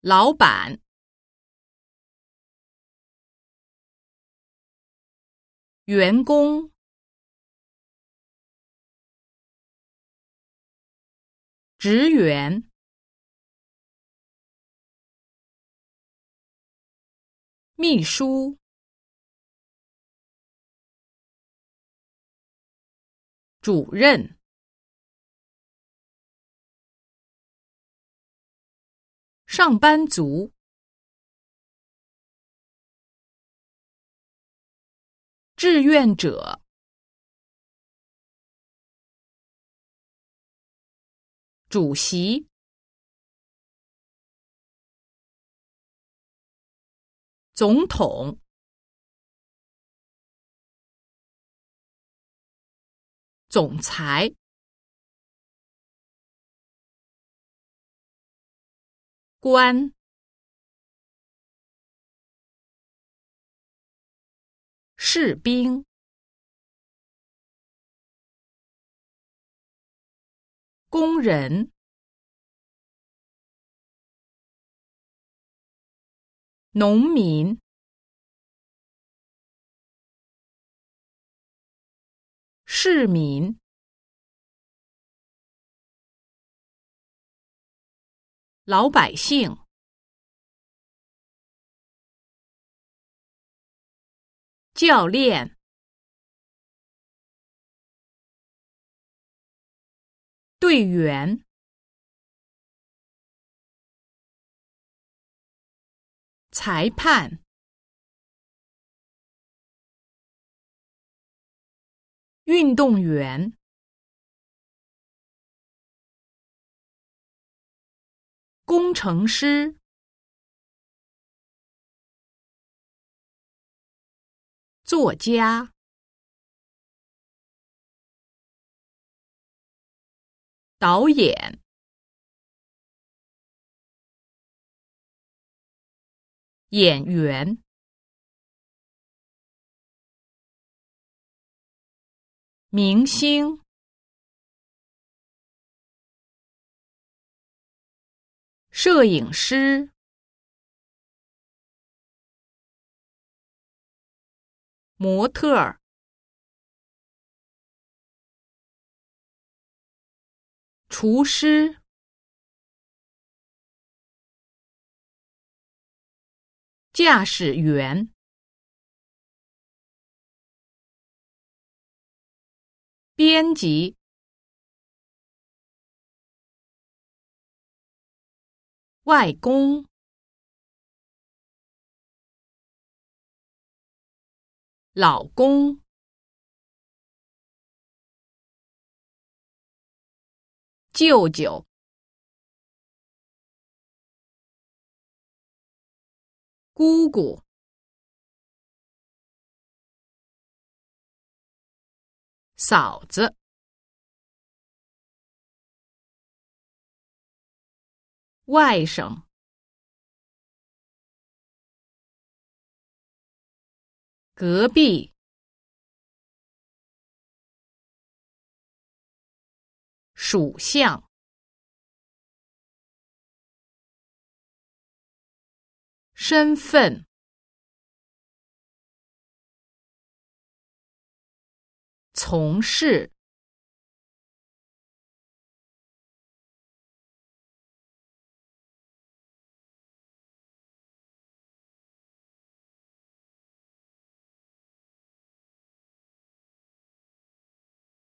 老板、员工、职员、秘书、主任、上班族、志愿者、主席、总统、总裁、官、士兵、工人、农民、市民、老百姓、教练、队员、裁判、运动员、工程师、作家、导演、演员、明星、摄影师、模特儿、厨师、驾驶员、编辑、外公、老公、舅舅、姑姑、嫂子、外甥、隔壁、属相、身份、从事、